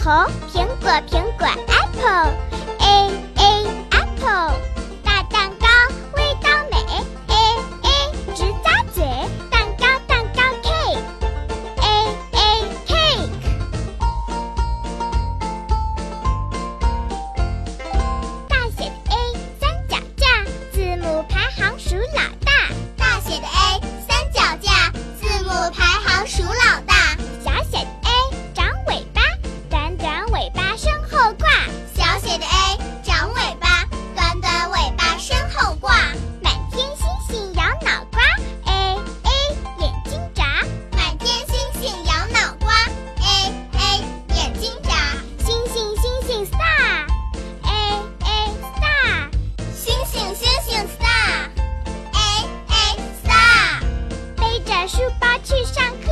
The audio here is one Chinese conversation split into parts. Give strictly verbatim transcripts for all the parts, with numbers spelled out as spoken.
头，苹果苹果 apple A A apple。 大蛋糕味道美 A A 直咂嘴，蛋糕蛋糕 cake A A cake。 大写的 A 三脚架，字母排行数老大。 大写的 A 三脚架，字母排行数老大。 小写的 A 长尾巴，短短尾巴身后挂。 小写的 A 长尾巴，短短尾巴身后挂。 满天星星摇脑瓜 A A 眼睛眨。 满天星星摇脑瓜 A A 眼睛眨。 星星星星 star A A star。 星星星星 star A A star。 背着书包去上课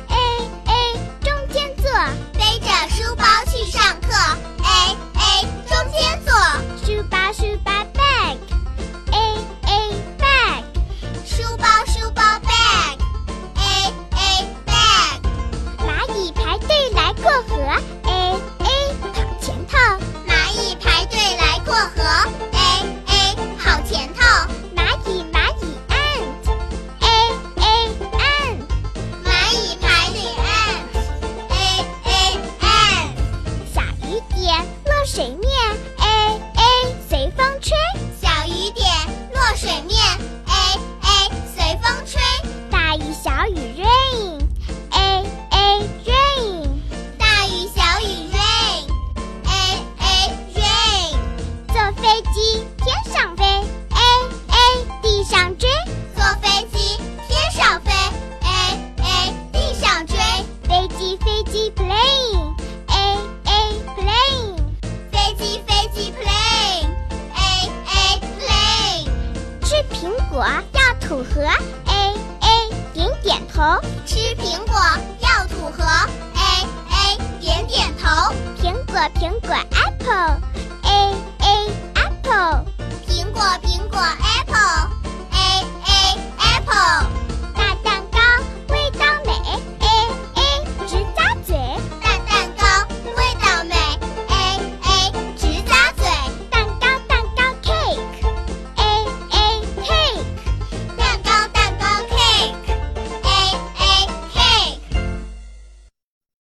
A A 中间坐。 背着书包去上课 A A 中间坐。 书包书包 bag A A bag。 书包书包 bag A A bag。 蚂蚁排队来过河 A A 跑前头。 蚂蚁排队来过河 A A 跑前头。 蚂蚁蚂蚁 ant A A ant。 蚂蚁排队 ant A A ant。 小雨点落水面 A A 随风吹。 小雨点落水面 A A 随风吹。 大雨小雨 rain A A rain。 大雨小雨 rain A A rain。 坐飞机天上飞 A A 地上追。 坐飞机天上飞 A A 地上追。 飞机飞机 plane A A plane。 飞机飞机 plane A A plane。 吃苹果要吐核 A A 点点头。 吃苹果要吐核 A A 点点头。 苹果苹果 apple A A